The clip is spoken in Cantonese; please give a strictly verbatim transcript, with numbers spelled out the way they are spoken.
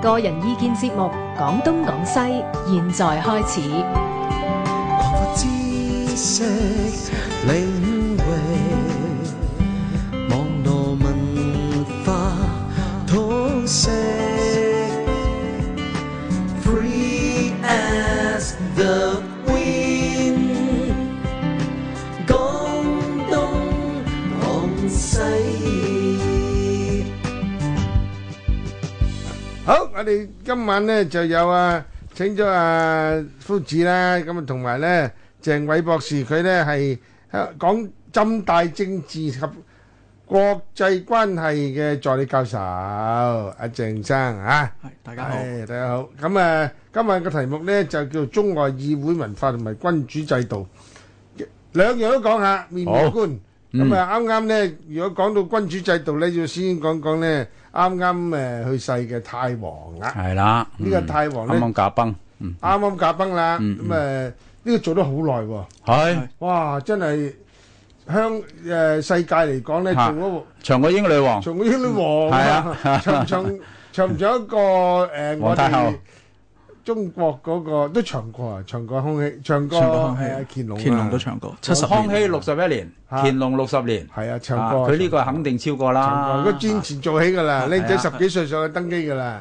個人意見節目《講東講西》，現在開始。 擴闊知識領域，網絡文化通識 ，Free as the wind， 講東講西。 好，我哋今晚咧就有啊，請咗啊夫子啦，咁啊同埋咧鄭偉博士，佢咧係講浸大政治及國際關係嘅助理教授，阿鄭生啊， 係大家好， 係大家好。咁啊，今日嘅題目咧就叫中外議會文化同埋君主制度，兩樣都講下，面面觀。咁啊，啱啱咧，如果講到君主制度咧，要先講講咧。啱啱誒去世嘅太皇啦， 係啦， 呢個太皇咧啱啱駕崩， 啱啱駕崩啦，咁誒呢個做得好耐喎， 係， 哇真係香誒世界嚟講咧做咗長過英女王， 長過英女王啊，長唔長長唔長一個誒我哋中國嗰個都長過啊，長過康熙，長過誒乾隆， 乾隆都長過，七十年。 康熙六十一年，乾隆六十年， 係啊，長過。 佢呢個肯定超過啦。 長過，佢戰前做起㗎啦，靚仔十幾歲上去登基㗎啦。